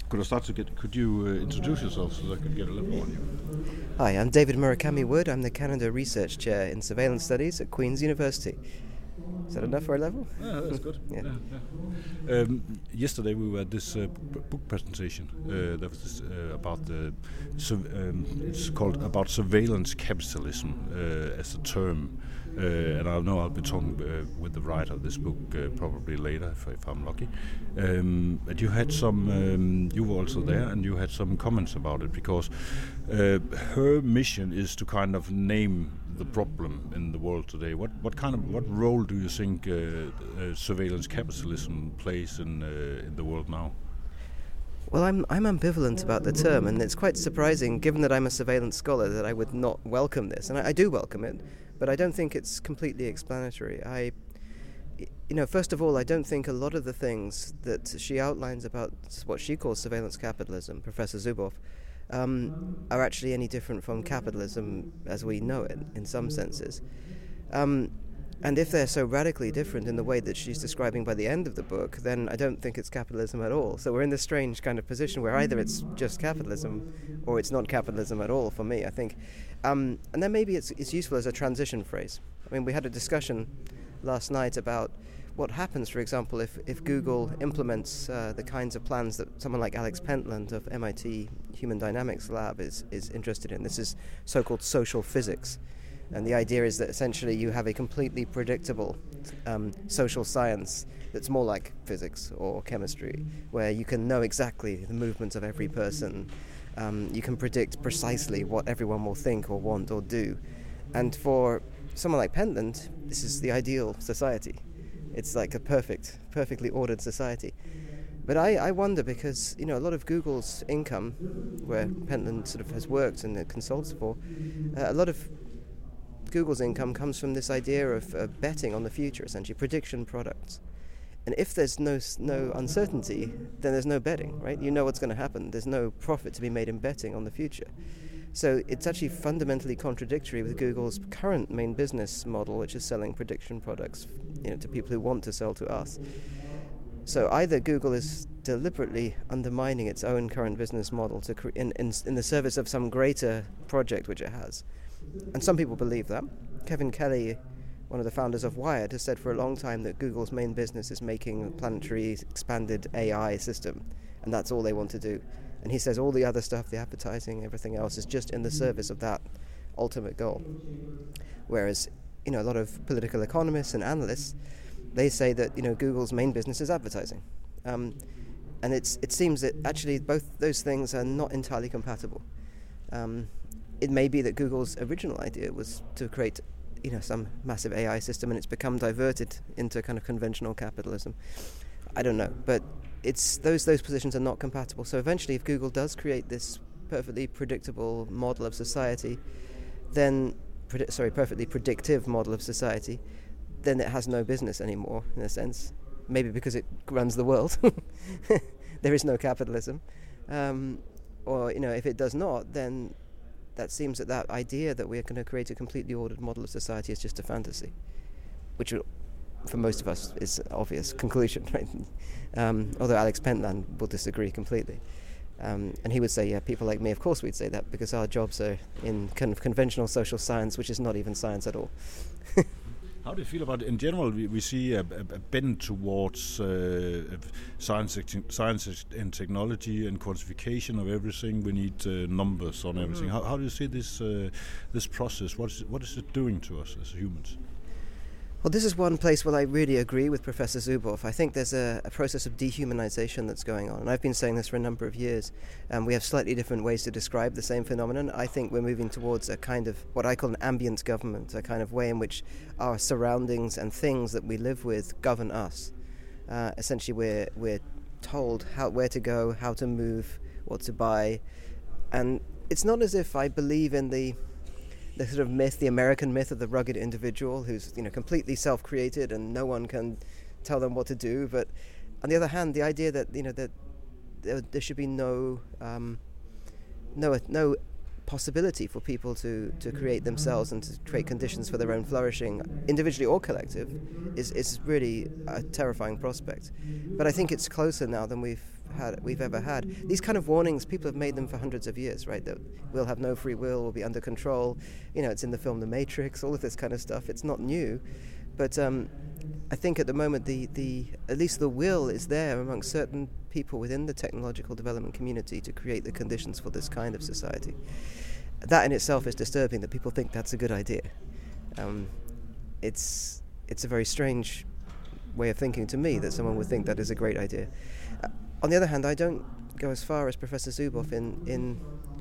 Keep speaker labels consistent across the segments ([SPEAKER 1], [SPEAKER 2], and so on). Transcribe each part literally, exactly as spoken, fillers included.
[SPEAKER 1] could I start to get? Could you uh, introduce yourself so that I could get a little more on you?
[SPEAKER 2] Hi, I'm David Murakami Wood. I'm the Canada Research Chair in Surveillance Studies at Queen's University. Is that enough for a level?
[SPEAKER 1] Yeah, that's good.
[SPEAKER 2] yeah.
[SPEAKER 1] yeah, yeah. Um, yesterday we were at this uh, b- book presentation. Uh, that was this, uh, about the. Su- um, it's called about surveillance capitalism uh, as a term. Uh, and I know I'll be talking uh, with the writer of this book uh, probably later, if, if I'm lucky. Um, but you had some, um, you were also there, and you had some comments about it because uh, her mission is to kind of name the problem in the world today. What what kind of what role do you think uh, uh, surveillance capitalism plays in uh, in the world now?
[SPEAKER 2] Well, I'm I'm ambivalent about the term, and it's quite surprising, given that I'm a surveillance scholar, that I would not welcome this, and I, I do welcome it. But I don't think it's completely explanatory. I, you know, first of all, I don't think a lot of the things that she outlines about what she calls surveillance capitalism, Professor Zuboff, um, are actually any different from capitalism as we know it, in some senses. Um, and if they're so radically different in the way that she's describing by the end of the book, then I don't think it's capitalism at all. So we're in this strange kind of position where either it's just capitalism or it's not capitalism at all for me, I think. Um, and then maybe it's, it's useful as a transition phrase. I mean, we had a discussion last night about what happens, for example, if, if Google implements uh, the kinds of plans that someone like Alex Pentland of M I T Human Dynamics Lab is, is interested in. This is so-called social physics. And the idea is that essentially you have a completely predictable um, social science that's more like physics or chemistry, where you can know exactly the movements of every person. Um, you can predict precisely what everyone will think or want or do. And for someone like Pentland, this is the ideal society. It's like a perfect, perfectly ordered society. But I, I wonder because, you know, a lot of Google's income, where Pentland sort of has worked and consults for, uh, a lot of Google's income comes from this idea of uh, betting on the future, essentially, prediction products. And if there's no no uncertainty, then there's no betting, right? You know what's going to happen. There's no profit to be made in betting on the future. So it's actually fundamentally contradictory with Google's current main business model, which is selling prediction products, you know, to people who want to sell to us. So either Google is deliberately undermining its own current business model to cre- in, in in the service of some greater project which it has. And some people believe that. Kevin Kelly, one of the founders of Wired, has said for a long time that Google's main business is making a planetary expanded A I system, and that's all they want to do. And he says all the other stuff, the advertising, everything else, is just in the service of that ultimate goal. Whereas, you know, a lot of political economists and analysts, they say that, you know, Google's main business is advertising. Um, and it's it seems that actually both those things are not entirely compatible. Um, It may be that Google's original idea was to create, you know, some massive A I system, and it's become diverted into kind of conventional capitalism. I don't know, but it's those those positions are not compatible. So eventually, if Google does create this perfectly predictable model of society, then predi- sorry, perfectly predictive model of society, then it has no business anymore in a sense. Maybe because it runs the world. There is no capitalism, um, or you know, if it does not, then that seems that that idea that we're going to create a completely ordered model of society is just a fantasy, which for most of us is an obvious conclusion, right? Um, although Alex Pentland will disagree completely. Um, and he would say, yeah, people like me, of course we'd say that, because our jobs are in kind of conventional social science, which is not even science at all.
[SPEAKER 1] How do you feel about it? In general, we, we see a, a, a bend towards uh, science, science and technology and quantification of everything. We need uh, numbers on everything. Mm-hmm. How, how do you see this uh, this process? What is it, what is it doing to us as humans?
[SPEAKER 2] Well, this is one place where I really agree with Professor Zuboff. I think there's a, a process of dehumanization that's going on, and I've been saying this for a number of years. Um, we have slightly different ways to describe the same phenomenon. I think we're moving towards a kind of what I call an ambient government, a kind of way in which our surroundings and things that we live with govern us. Uh, essentially, we're we're told how where to go, how to move, what to buy, and it's not as if I believe in the the sort of myth, the American myth of the rugged individual who's, you know, completely self-created and no one can tell them what to do. But on the other hand, the idea that, you know, that there, there should be no um, no no possibility for people to, to create themselves and to create conditions for their own flourishing, individually or collective, is is really a terrifying prospect. But I think it's closer now than we've had we've ever had. These kind of warnings, people have made them for hundreds of years, right? That we'll have no free will, we'll be under control. You know, it's in the film The Matrix, all of this kind of stuff. It's not new, but um, I think at the moment the, the at least the will is there among certain people within the technological development community to create the conditions for this kind of society. That in itself is disturbing, that people think that's a good idea. Um, it's it's a very strange way of thinking to me that someone would think that is a great idea. Uh, on the other hand, I don't go as far as Professor Zuboff in in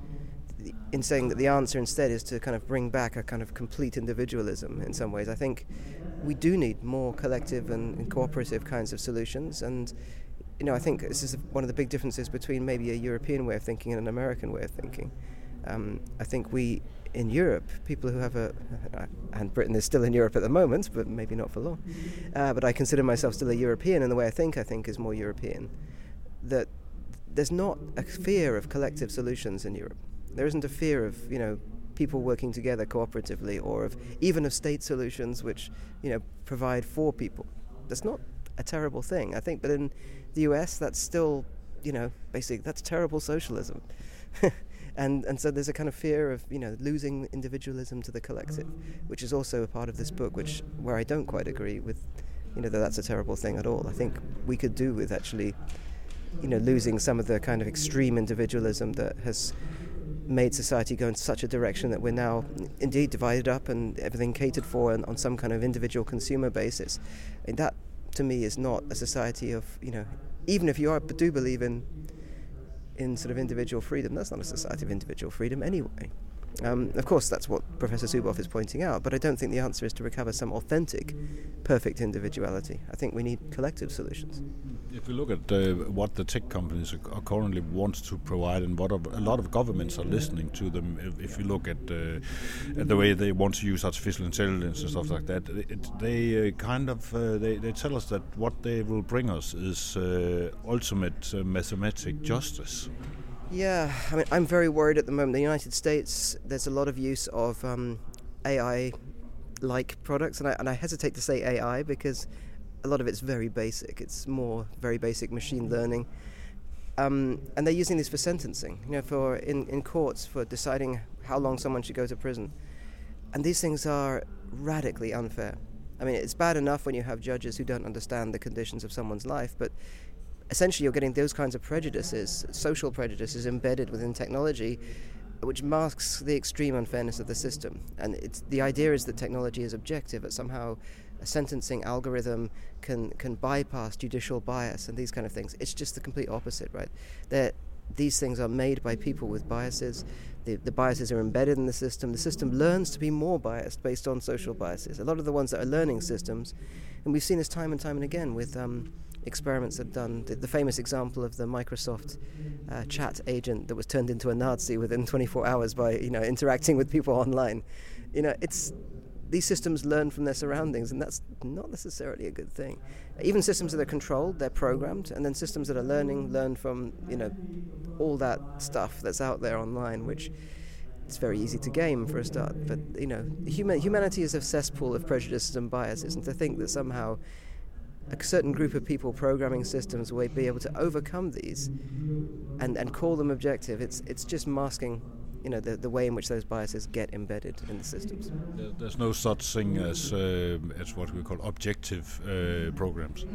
[SPEAKER 2] in saying that the answer instead is to kind of bring back a kind of complete individualism in some ways. I think we do need more collective and, and cooperative kinds of solutions, and you know, I think this is one of the big differences between maybe a European way of thinking and an American way of thinking. Um, I think we, in Europe, people who have a, and Britain is still in Europe at the moment, but maybe not for long, uh, but I consider myself still a European, and the way I think, I think is more European, that there's not a fear of collective solutions in Europe. There isn't a fear of, you know, people working together cooperatively, or of even of state solutions which, you know, provide for people. That's not a terrible thing, I think, but in the U S that's still, you know, basically that's terrible socialism. And and so there's a kind of fear of, you know, losing individualism to the collective, which is also a part of this book, which where I don't quite agree with, you know, that that's a terrible thing at all. I think we could do with actually, you know, losing some of the kind of extreme individualism that has made society go in such a direction that we're now indeed divided up and everything catered for on, on some kind of individual consumer basis. And that, to me, is not a society of, you know, even if you are do believe in in sort of individual freedom, that's not a society of individual freedom anyway. Um, of course, that's what Professor Zuboff is pointing out, but I don't think the answer is to recover some authentic, perfect individuality. I think we need collective solutions.
[SPEAKER 1] If we look at uh, what the tech companies are currently want to provide, and what a lot of governments are listening to them, if, if you look at, uh, at the way they want to use artificial intelligence and stuff like that, it, they uh, kind of uh, they, they tell us that what they will bring us is uh, ultimate uh, mathematic justice.
[SPEAKER 2] Yeah, I mean, I'm very worried at the moment. In the United States, there's a lot of use of um, A I-like products, and I, and I hesitate to say A I because a lot of it's very basic. It's more very basic machine learning. Um, and they're using this for sentencing, you know, for in, in courts for deciding how long someone should go to prison. And these things are radically unfair. I mean, it's bad enough when you have judges who don't understand the conditions of someone's life, but essentially you're getting those kinds of prejudices, social prejudices embedded within technology, which masks the extreme unfairness of the system. And it's, the idea is that technology is objective, that somehow a sentencing algorithm can can bypass judicial bias and these kind of things. It's just the complete opposite, right? That these things are made by people with biases. The, the biases are embedded in the system. The system learns to be more biased based on social biases. A lot of the ones that are learning systems, and we've seen this time and time and again with um, experiments that have done. The, the famous example of the Microsoft uh, chat agent that was turned into a Nazi within twenty-four hours by, you know, interacting with people online. You know, it's these systems learn from their surroundings, and that's not necessarily a good thing. Even systems that are controlled, they're programmed, and then systems that are learning learn from, you know, all that stuff that's out there online, which it's very easy to game for a start. But, you know, human, humanity is a cesspool of prejudices and biases, and to think that somehow a certain group of people programming systems will be able to overcome these and, and call them objective, it's it's just masking, you know, the, the way in which those biases get embedded in the systems.
[SPEAKER 1] There's no such thing as uh, as what we call objective uh, programs.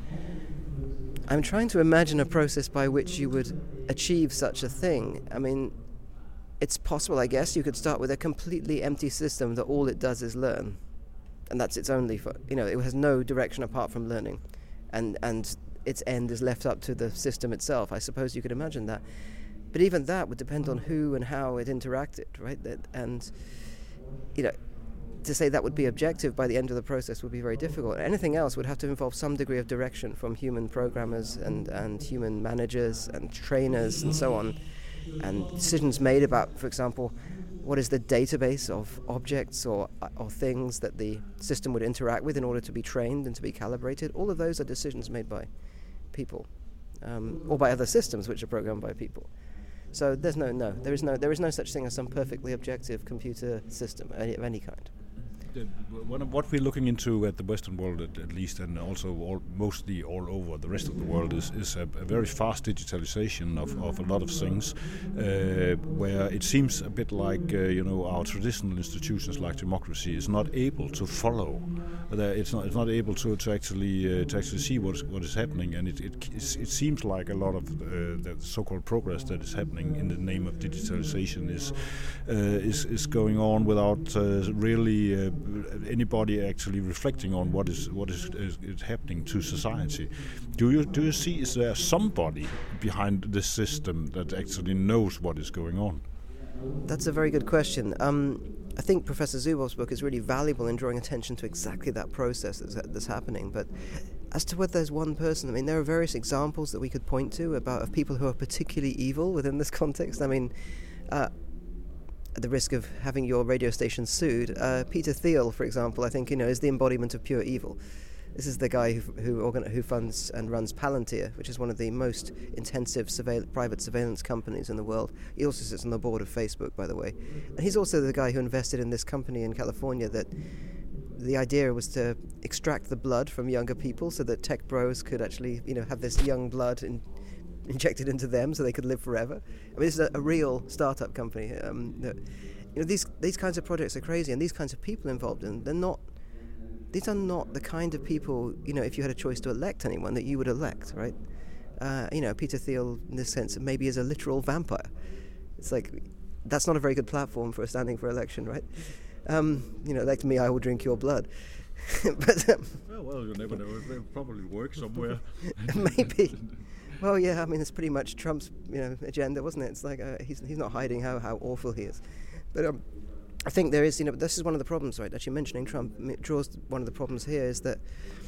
[SPEAKER 2] I'm trying to imagine a process by which you would achieve such a thing. I mean, it's possible, I guess. You could start with a completely empty system that all it does is learn. And that's its only, for, you know, it has no direction apart from learning. And and its end is left up to the system itself. I suppose you could imagine that. But even that would depend on who and how it interacted, right? That, and, you know, to say that would be objective by the end of the process would be very difficult. Anything else would have to involve some degree of direction from human programmers and, and human managers and trainers and so on. And decisions made about, for example, what is the database of objects or or things that the system would interact with in order to be trained and to be calibrated. All of those are decisions made by people, um, or by other systems which are programmed by people. So there's no no there is no there is no such thing as some perfectly objective computer system of any kind.
[SPEAKER 1] The, one of what we're looking into at the Western world, at, at least, and also all, mostly all over the rest of the world, is, is a, a very fast digitalization of, of a lot of things, uh, where it seems a bit like uh, you know our traditional institutions like democracy is not able to follow. Uh, it's not it's not able to to actually uh, to actually see what is, what is happening, and it it, it seems like a lot of uh, the so-called progress that is happening in the name of digitalization is uh, is is going on without uh, really. Uh, anybody actually reflecting on what is what is, is, is happening to society. Do you do you see, is there somebody behind this system that actually knows what is going on?
[SPEAKER 2] That's a very good question. Um, I think Professor Zubov's book is really valuable in drawing attention to exactly that process that's, that's happening. But as to whether there's one person, I mean, there are various examples that we could point to about of people who are particularly evil within this context. I mean, uh, at the risk of having your radio station sued, uh, Peter Thiel, for example, I think, you know, is the embodiment of pure evil. This is the guy who who, organ- who funds and runs Palantir, which is one of the most intensive surveil- private surveillance companies in the world. He also sits on the board of Facebook, by the way. And he's also the guy who invested in this company in California that the idea was to extract the blood from younger people so that tech bros could actually, you know, have this young blood in, injected into them so they could live forever. I mean, this is a, a real startup company. Um, that, you know, these these kinds of projects are crazy, and these kinds of people involved in them, they're not. These are not the kind of people, you know, if you had a choice to elect anyone, that you would elect, right? Uh, you know, Peter Thiel, in this sense, maybe is a literal vampire. It's like, that's not a very good platform for standing for election, right? Um, you know, elect me, I will drink your blood. but um,
[SPEAKER 1] well, well, you never know. It'll probably work somewhere.
[SPEAKER 2] Maybe. Well, yeah, I mean, it's pretty much Trump's, you know, agenda, wasn't it? It's like uh, he's he's not hiding how, how awful he is. But um, I think there is, you know, this is one of the problems, right? Actually, mentioning Trump it draws one of the problems here is that,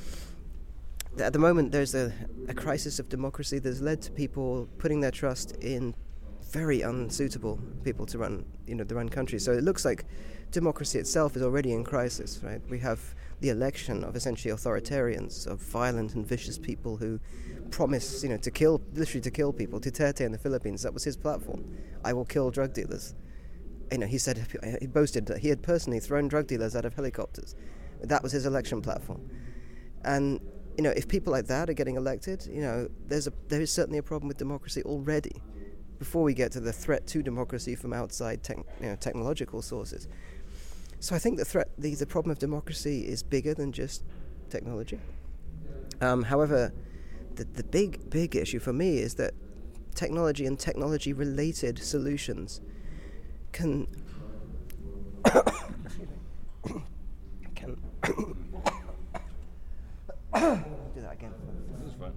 [SPEAKER 2] that at the moment there's a, a crisis of democracy that's led to people putting their trust in very unsuitable people to run, you know, to run countries. So it looks like democracy itself is already in crisis, right? We have the election of essentially authoritarians, of violent and vicious people who promise, you know, to kill, literally to kill people. Duterte in the Philippines, that was his platform. I will kill drug dealers. You know, he said, he boasted that he had personally thrown drug dealers out of helicopters. That was his election platform. And, you know, if people like that are getting elected, you know, there's a there is certainly a problem with democracy already, before we get to the threat to democracy from outside tech, you know, technological sources. So I think the threat, the, the problem of democracy is bigger than just technology. Um, however, the, the big, big issue for me is that technology and technology-related solutions can can do that again.
[SPEAKER 1] That's fine.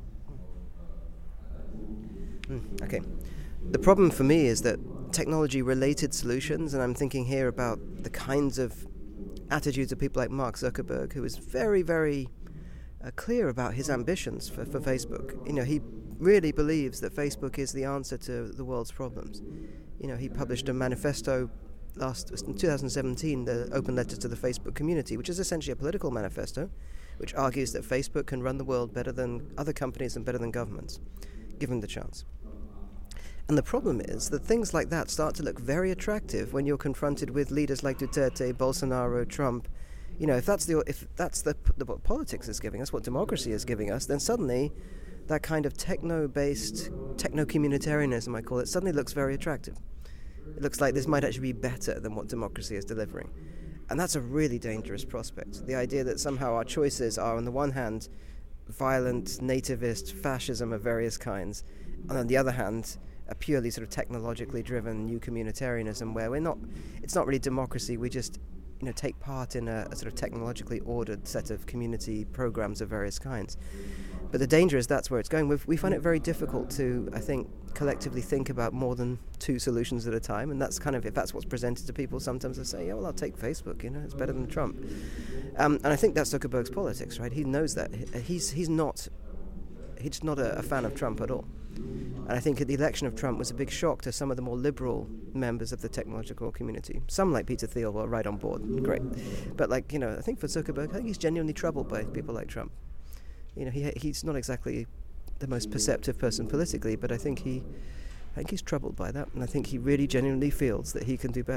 [SPEAKER 2] Mm, okay. The problem for me is that technology-related solutions, and I'm thinking here about the kinds of attitudes of people like Mark Zuckerberg, who is very, very uh, clear about his ambitions for, for Facebook. You know, he really believes that Facebook is the answer to the world's problems. You know, he published a manifesto last in two thousand seventeen, the Open Letter to the Facebook Community, which is essentially a political manifesto, which argues that Facebook can run the world better than other companies and better than governments, given the chance. And the problem is that things like that start to look very attractive when you're confronted with leaders like Duterte, Bolsonaro, Trump. You know, if that's the if that's the, the what politics is giving us, what democracy is giving us, then suddenly that kind of techno-based, techno-communitarianism, I call it, suddenly looks very attractive. It looks like this might actually be better than what democracy is delivering. And that's a really dangerous prospect. The idea that somehow our choices are, on the one hand, violent, nativist, fascism of various kinds, and on the other hand, a purely sort of technologically driven new communitarianism where we're not, it's not really democracy, we just, you know, take part in a, a sort of technologically ordered set of community programs of various kinds. But the danger is that's where it's going. We've, we find it very difficult to, I think, collectively think about more than two solutions at a time, and that's kind of, if that's what's presented to people, sometimes they say, yeah, well, I'll take Facebook, you know, it's better than Trump. Um, and I think that's Zuckerberg's politics, right? He knows that. He's he's not, he's not a, a fan of Trump at all. And I think the election of Trump was a big shock to some of the more liberal members of the technological community. Some, like Peter Thiel, were right on board. Great. But, like, you know, I think for Zuckerberg, I think he's genuinely troubled by people like Trump. You know, he he's not exactly the most perceptive person politically, but I think he, I think he's troubled by that, and I think he really genuinely feels that he can do better.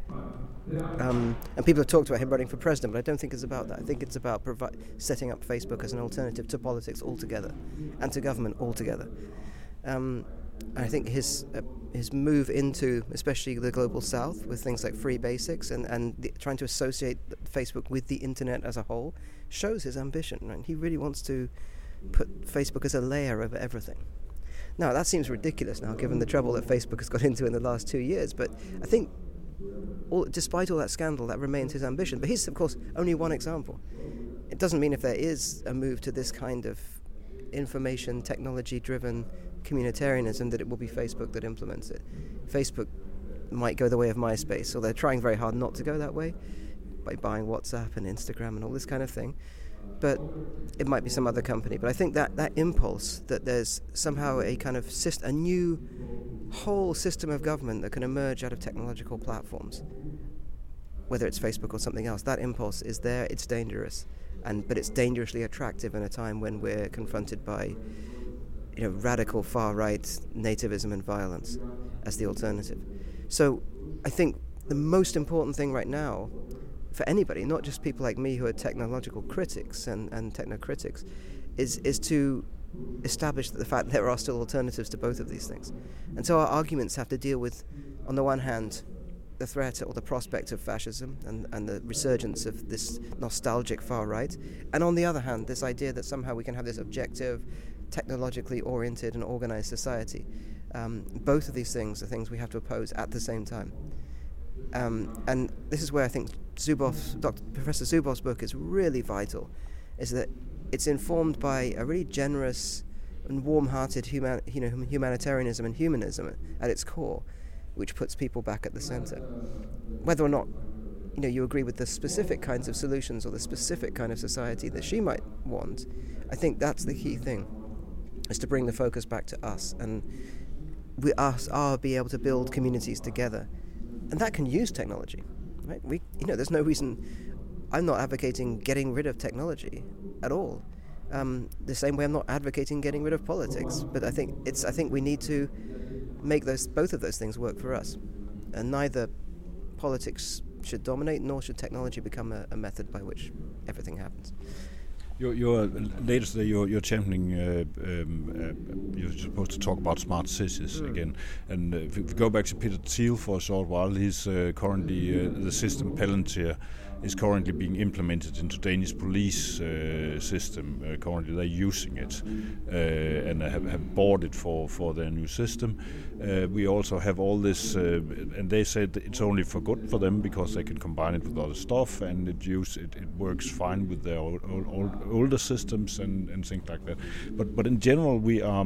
[SPEAKER 2] Um, and people have talked about him running for president, but I don't think it's about that. I think it's about provi- setting up Facebook as an alternative to politics altogether and to government altogether. Um, I think his uh, his move into, especially the global south, with things like free basics and, and the, trying to associate Facebook with the internet as a whole, shows his ambition. Right? He really wants to put Facebook as a layer over everything. Now, that seems ridiculous now, given the trouble that Facebook has got into in the last two years, but I think all, despite all that scandal, that remains his ambition. But he's, of course, only one example. It doesn't mean if there is a move to this kind of information technology-driven communitarianism that it will be Facebook that implements it. Facebook might go the way of MySpace, or they're trying very hard not to go that way by buying WhatsApp and Instagram and all this kind of thing. But it might be some other company. But I think that, that impulse that there's somehow a kind of syst- a new whole system of government that can emerge out of technological platforms, whether it's Facebook or something else, that impulse is there. It's dangerous, and but it's dangerously attractive in a time when we're confronted by, you know, radical far-right nativism and violence as the alternative. So I think the most important thing right now for anybody, not just people like me who are technological critics and, and technocritics, is is to establish the fact that there are still alternatives to both of these things. And so our arguments have to deal with, on the one hand, the threat or the prospect of fascism and, and the resurgence of this nostalgic far right, and on the other hand, this idea that somehow we can have this objective, technologically oriented and organized society. Um, both of these things are things we have to oppose at the same time. Um, and this is where I think Zuboff, Doctor Professor Zuboff's book is really vital, is that it's informed by a really generous and warm-hearted human, you know, humanitarianism and humanism at its core, which puts people back at the center. Whether or not, you know, you agree with the specific kinds of solutions or the specific kind of society that she might want, I think that's the key thing, is to bring the focus back to us, and we us are be able to build communities together, and that can use technology, right? We, you know, there's no reason. I'm not advocating getting rid of technology at all. Um, the same way I'm not advocating getting rid of politics, but I think it's. I think we need to make those both of those things work for us, and neither politics should dominate, nor should technology become a, a method by which everything happens.
[SPEAKER 1] You're, you're later today. You're, you're championing. Uh, um, uh, you're supposed to talk about smart cities mm. again. And uh, if we go back to Peter Thiel for a short while, he's uh, currently uh, the system Palantir is currently being implemented into Danish police uh, system. Uh, currently, they're using it uh, and have, have bought it for, for their new system. Uh, we also have all this, uh, and they said it's only for good for them because they can combine it with other stuff, and it use it, it works fine with their old, old, old, older systems and, and things like that. But but in general, we are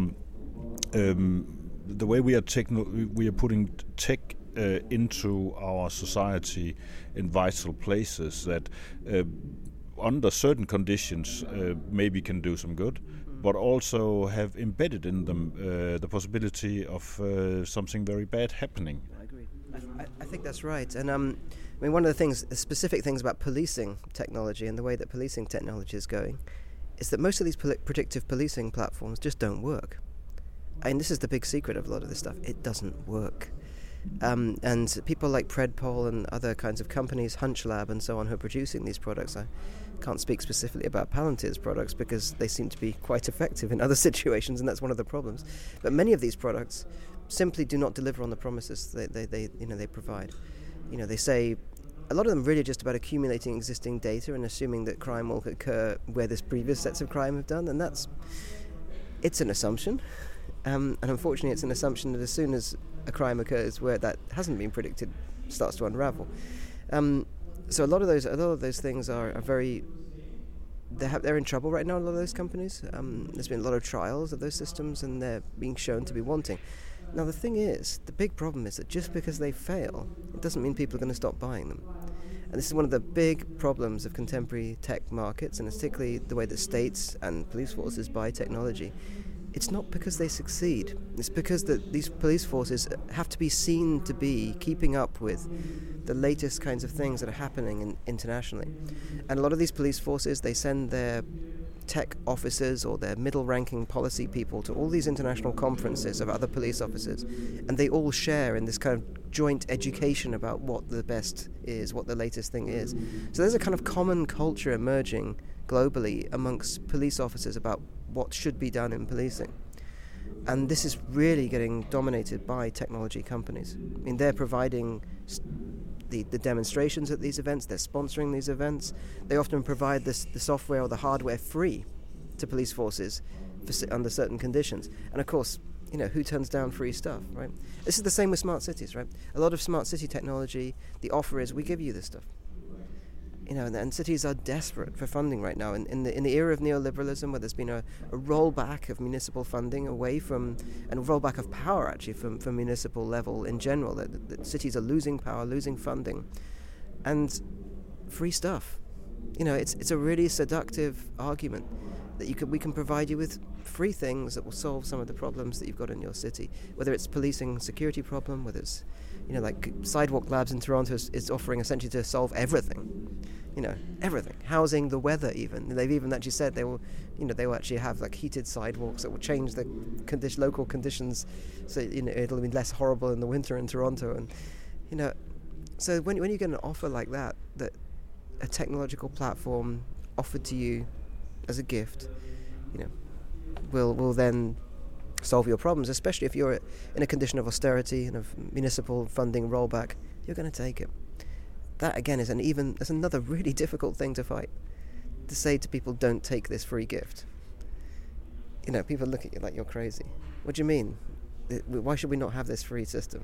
[SPEAKER 1] um, the way we are techno- we are putting tech Uh, into our society in vital places that uh, under certain conditions uh, maybe can do some good, but also have embedded in them uh, the possibility of uh, something very bad happening.
[SPEAKER 2] I agree. I, I think that's right. And um, I mean, one of the things, the specific things about policing technology and the way that policing technology is going, is that most of these poli- predictive policing platforms just don't work. And this is the big secret of a lot of this stuff. It doesn't work. Um, and people like Predpol and other kinds of companies, HunchLab and so on, who are producing these products. I can't speak specifically about Palantir's products because they seem to be quite effective in other situations, and that's one of the problems. But many of these products simply do not deliver on the promises they, they, they you know, they provide. You know, they say a lot of them really just about accumulating existing data and assuming that crime will occur where this previous sets of crime have done, and that's it's an assumption. Um, and unfortunately, it's an assumption that as soon as a crime occurs where that hasn't been predicted, starts to unravel. Um, so a lot of those, a lot of those things are, are very. They have, they're in trouble right now. A lot of those companies. Um, there's been a lot of trials of those systems, and they're being shown to be wanting. Now the thing is, the big problem is that just because they fail, it doesn't mean people are going to stop buying them. And this is one of the big problems of contemporary tech markets, and particularly the way that states and police forces buy technology. It's not because they succeed. It's because that these police forces have to be seen to be keeping up with the latest kinds of things that are happening in, internationally. And a lot of these police forces, they send their tech officers or their middle-ranking policy people to all these international conferences of other police officers, and they all share in this kind of joint education about what the best is, what the latest thing is. So there's a kind of common culture emerging globally amongst police officers about what should be done in policing. And this is really getting dominated by technology companies. I mean, they're providing the, the demonstrations at these events, they're sponsoring these events. They often provide this, the software or the hardware free to police forces for, under certain conditions. And of course, you know, who turns down free stuff, right? This is the same with smart cities, right? A lot of smart city technology, the offer is, we give you this stuff. You know, and, and cities are desperate for funding right now. In, in the in the era of neoliberalism, where there's been a, a rollback of municipal funding away from, and a rollback of power actually from, from municipal level in general, that, that cities are losing power, losing funding, and free stuff. You know, it's it's a really seductive argument that you can we can provide you with free things that will solve some of the problems that you've got in your city, whether it's policing security problem, whether it's, you know, like Sidewalk Labs in Toronto is, is offering essentially to solve everything. You know, everything. Housing, the weather even. They've even actually said they will, you know, they will actually have like heated sidewalks that will change the condition, local conditions, so, you know, it'll be less horrible in the winter in Toronto. And, you know, so when when you get an offer like that, that a technological platform offered to you as a gift, you know, will will then solve your problems, especially if you're in a condition of austerity and of municipal funding rollback, you're going to take it. That again is an even that's another really difficult thing to fight. To say to people, don't take this free gift. You know, people look at you like you're crazy. What do you mean? Why should we not have this free system?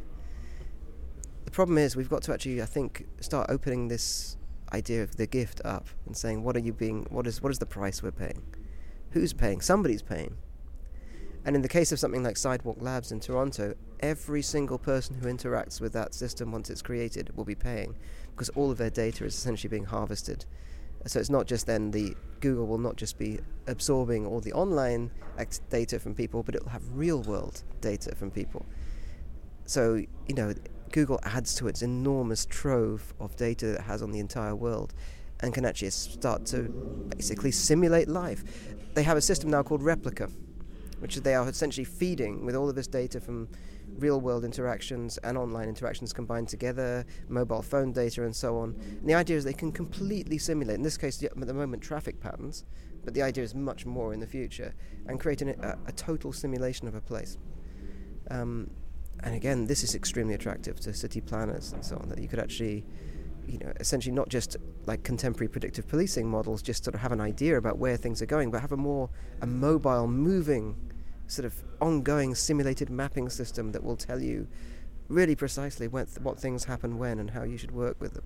[SPEAKER 2] The problem is we've got to actually, I think, start opening this idea of the gift up and saying, what are you being? What is what is the price we're paying? Who's paying? Somebody's paying. And in the case of something like Sidewalk Labs in Toronto, every single person who interacts with that system once it's created will be paying, because all of their data is essentially being harvested. So it's not just then the Google will not just be absorbing all the online act- data from people, but it'll have real world data from people. So, you know, Google adds to its enormous trove of data that it has on the entire world and can actually start to basically simulate life. They have a system now called Replica, which they are essentially feeding with all of this data from real-world interactions and online interactions combined together, mobile phone data and so on. And the idea is they can completely simulate, in this case at the moment, traffic patterns, but the idea is much more in the future, and create an, a, a total simulation of a place. Um, and again, this is extremely attractive to city planners and so on, that you could actually, you know, essentially not just like contemporary predictive policing models, just sort of have an idea about where things are going, but have a more a mobile, moving, sort of ongoing simulated mapping system that will tell you really precisely when th- what things happen when and how you should work with them.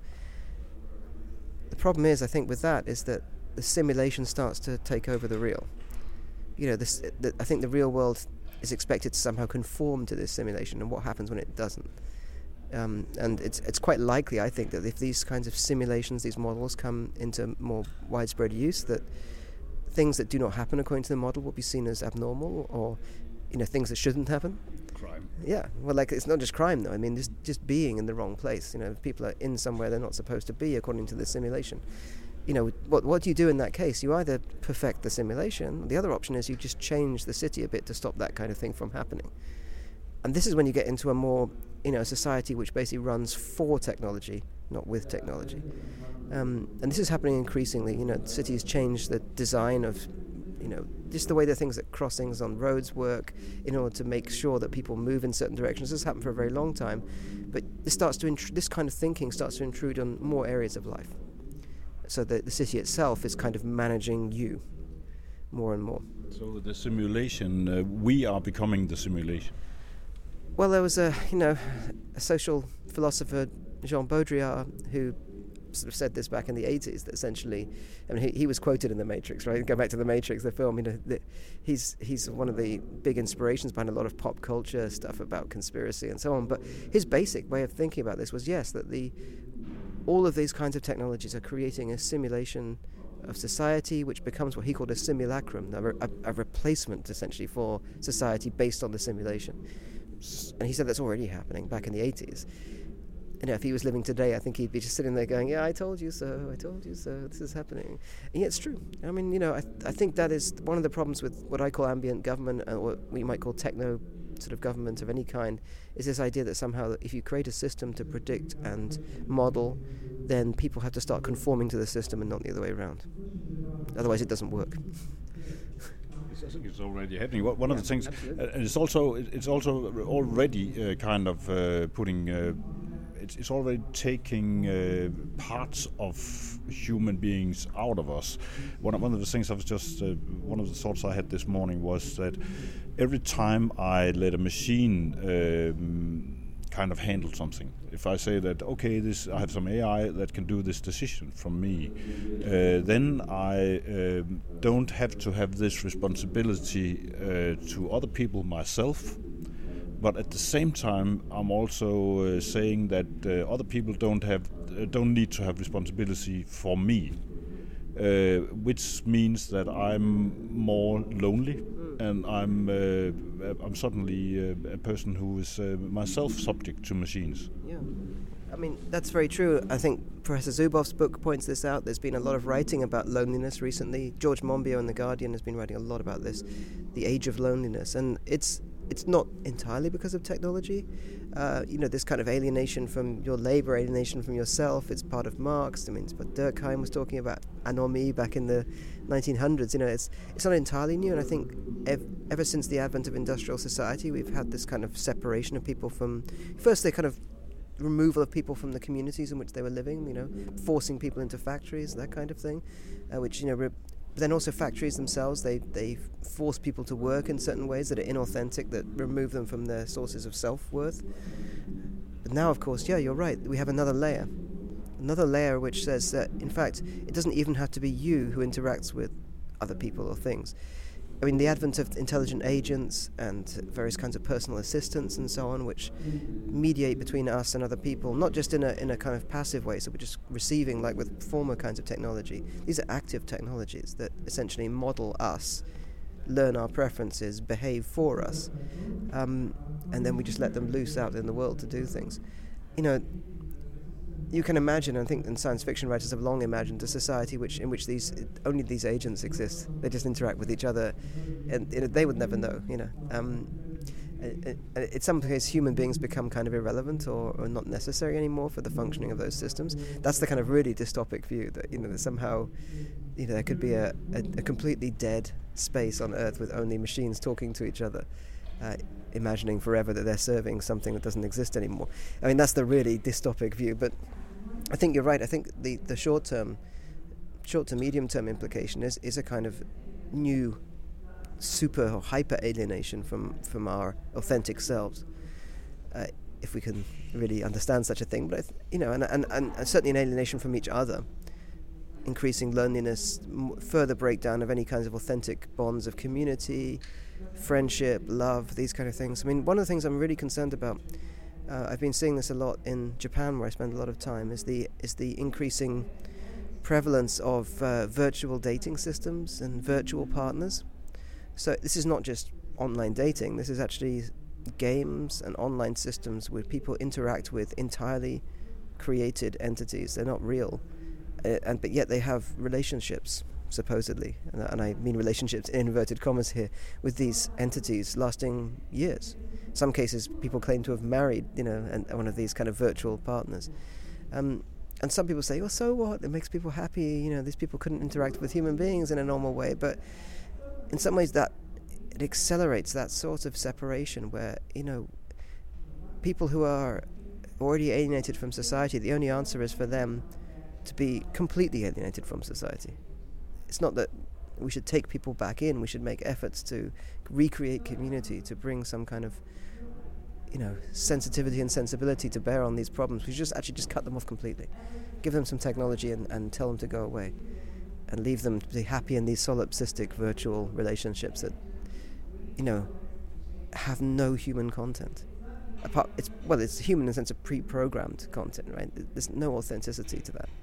[SPEAKER 2] The problem is, I think, with that is that the simulation starts to take over the real. You know, this. The, I think the real world is expected to somehow conform to this simulation, and what happens when it doesn't. Um, and it's it's quite likely, I think, that if these kinds of simulations, these models come into more widespread use, that things that do not happen according to the model will be seen as abnormal, or, you know, things that shouldn't happen.
[SPEAKER 1] Crime.
[SPEAKER 2] Yeah, well, like, it's not just crime, though. I mean, just just being in the wrong place. You know, if people are in somewhere they're not supposed to be according to the simulation. You know, what what do you do in that case? You either perfect the simulation. The other option is you just change the city a bit to stop that kind of thing from happening. And this is when you get into a more, you know, society which basically runs for technology, not with technology. Um, and this is happening increasingly. You know, cities change the design of, you know, just the way the things that crossings on roads work in order to make sure that people move in certain directions. This has happened for a very long time, but this starts to intr- this kind of thinking starts to intrude on more areas of life. So that the city itself is kind of managing you more and more.
[SPEAKER 1] So the simulation, uh, we are becoming the simulation.
[SPEAKER 2] Well, there was a, you know, a social philosopher, Jean Baudrillard, who sort of said this back in the eighties, that essentially, I mean, he, he was quoted in The Matrix, right? Go back to The Matrix, the film, you know, the, he's he's one of the big inspirations behind a lot of pop culture stuff about conspiracy and so on. But his basic way of thinking about this was, yes, that the all of these kinds of technologies are creating a simulation of society, which becomes what he called a simulacrum, a, a, a replacement, essentially, for society based on the simulation. And he said that's already happening back in the eighties. you know, if he was living today, I think he'd be just sitting there going, yeah, I told you so, I told you so, this is happening. And yet it's true. I mean, you know, I, I think that is one of the problems with what I call ambient government, or what we might call techno sort of government of any kind, is this idea that somehow if you create a system to predict and model, then people have to start conforming to the system and not the other way around. Otherwise it doesn't work.
[SPEAKER 1] I think it's already happening. One of
[SPEAKER 2] yeah,
[SPEAKER 1] the things,
[SPEAKER 2] absolutely.
[SPEAKER 1] uh, it's also it's also already uh, kind of uh, putting. Uh, it's, it's already taking uh, parts of human beings out of us. One of, one of the things I was just uh, one of the thoughts I had this morning was that every time I let a machine um, kind of handle something. If I say that, okay, this I have some A I that can do this decision from me, uh, then I uh, don't have to have this responsibility uh, to other people myself. But at the same time, I'm also uh, saying that uh, other people don't have uh, don't need to have responsibility for me. Uh, which means that I'm more lonely, and I'm uh, I'm suddenly uh, a person who is uh, myself subject to machines.
[SPEAKER 2] Yeah, I mean that's very true. I think Professor Zubov's book points this out. There's been a lot of writing about loneliness recently. George Monbiot in The Guardian has been writing a lot about this, the age of loneliness, and it's it's not entirely because of technology. Uh, you know, this kind of alienation from your labor, alienation from yourself, it's part of Marx. I mean, it's what Durkheim was talking about, anomie, back in the nineteen hundreds. You know, it's it's not entirely new, and I think ev- ever since the advent of industrial society, we've had this kind of separation of people from, first the kind of removal of people from the communities in which they were living, you know, forcing people into factories, that kind of thing, uh, which, you know, re- but then also factories themselves, they, they force people to work in certain ways that are inauthentic, that remove them from their sources of self-worth. But now, of course, yeah, you're right, we have another layer. Another layer which says that, in fact, it doesn't even have to be you who interacts with other people or things. I mean, the advent of intelligent agents and various kinds of personal assistants and so on, which mediate between us and other people, not just in a in a kind of passive way, so we're just receiving like with former kinds of technology. These are active technologies that essentially model us, learn our preferences, behave for us, um, and then we just let them loose out in the world to do things. You know, you can imagine, I think, and science fiction writers have long imagined a society which in which these only these agents exist. They just interact with each other, and you know, they would never know. You know, um, in some cases, human beings become kind of irrelevant or, or not necessary anymore for the functioning of those systems. That's the kind of really dystopic view that, you know, that somehow, you know, there could be a, a, a completely dead space on Earth with only machines talking to each other. Uh, imagining forever that they're serving something that doesn't exist anymore. I mean, that's the really dystopic view, but I think you're right. I think the, the short-term, short to medium-term implication is, is a kind of new super or hyper-alienation from, from our authentic selves, uh, if we can really understand such a thing. But, I th- you know, and, and, and certainly an alienation from each other, increasing loneliness, m- further breakdown of any kinds of authentic bonds of community, friendship, love, these kind of things. I mean, one of the things I'm really concerned about, uh, I've been seeing this a lot in Japan, where I spend a lot of time, is the is the increasing prevalence of uh, virtual dating systems and virtual partners. So this is not just online dating, this is actually games and online systems where people interact with entirely created entities. They're not real, uh, and but yet they have relationships, supposedly, and, and I mean relationships in inverted commas here, with these entities lasting years. In some cases, people claim to have married, you know, and one of these kind of virtual partners. Um, and some people say, well, so what? It makes people happy. You know, these people couldn't interact with human beings in a normal way. But in some ways, that it accelerates that sort of separation where, you know, people who are already alienated from society, the only answer is for them to be completely alienated from society. It's not that we should take people back in. We should make efforts to recreate community, to bring some kind of, you know, sensitivity and sensibility to bear on these problems. We should just actually just cut them off completely. Give them some technology and, and tell them to go away. And leave them to be happy in these solipsistic virtual relationships that, you know, have no human content. Apart, it's well, it's human in the sense of pre-programmed content, right? There's no authenticity to that.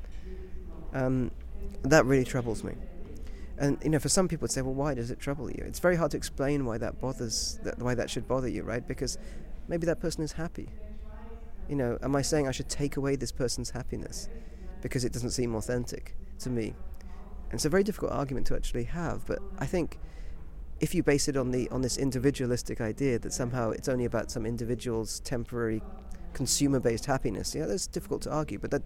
[SPEAKER 2] Um, that really troubles me. And, you know, for some people would say, well, why does it trouble you? It's very hard to explain why that bothers, that, why that should bother you, right? Because maybe that person is happy. You know, am I saying I should take away this person's happiness because it doesn't seem authentic to me? And it's a very difficult argument to actually have, but I think if you base it on the on this individualistic idea that somehow it's only about some individual's temporary consumer-based happiness, yeah, that's difficult to argue, but that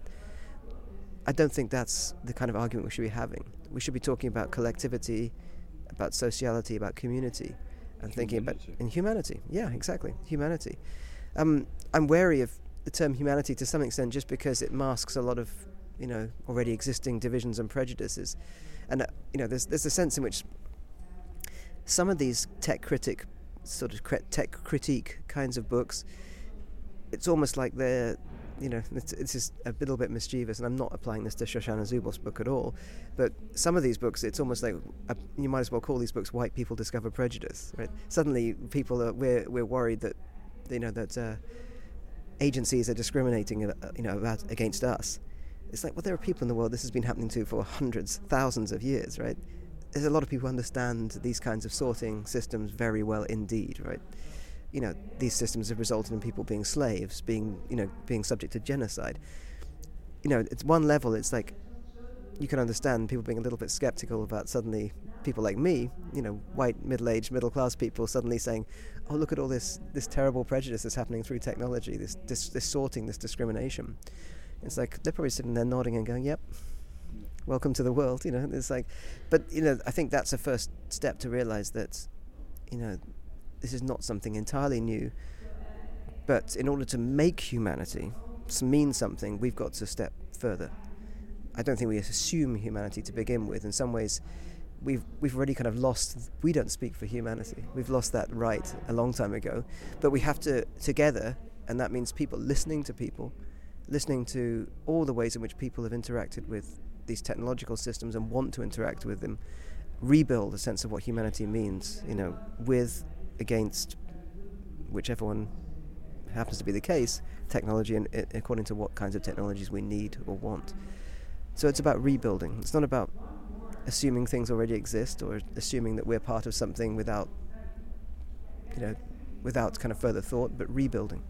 [SPEAKER 2] I don't think that's the kind of argument we should be having. We should be talking about collectivity, about sociality, about community, and thinking about in humanity. Yeah, exactly, humanity. Um, I'm wary of the term humanity to some extent just because it masks a lot of, you know, already existing divisions and prejudices, and uh, you know, there's there's a sense in which some of these tech critic, sort of tech critique kinds of books, it's almost like they're, you know, it's, it's just a little bit mischievous, and I'm not applying this to Shoshana Zuboff's book at all, but some of these books, it's almost like a, you might as well call these books "White People Discover Prejudice," right? Suddenly, people are we're we're worried that, you know, that uh, agencies are discriminating, uh, you know, about against us. It's like, well, there are people in the world this has been happening to for hundreds, thousands of years, right? There's a lot of people who understand these kinds of sorting systems very well indeed, right? You know, these systems have resulted in people being slaves, being, you know, being subject to genocide. You know, it's one level, it's like, you can understand people being a little bit skeptical about suddenly people like me, you know, white, middle-aged, middle-class people suddenly saying, oh, look at all this this terrible prejudice that's happening through technology, this, this, this sorting, this discrimination. It's like, they're probably sitting there nodding and going, yep, welcome to the world, you know. It's like, but, you know, I think that's a first step to realize that, you know, this is not something entirely new, but in order to make humanity mean something, we've got to step further. I don't think we assume humanity to begin with. In some ways, we've we've already kind of lost, we don't speak for humanity. We've lost that right a long time ago. But we have to, together, and that means people listening to people, listening to all the ways in which people have interacted with these technological systems and want to interact with them, rebuild a sense of what humanity means, you know, with, against, whichever one happens to be the case, technology, and uh, according to what kinds of technologies we need or want. So it's about rebuilding. It's not about assuming things already exist or assuming that we're part of something without, you know, without kind of further thought, but rebuilding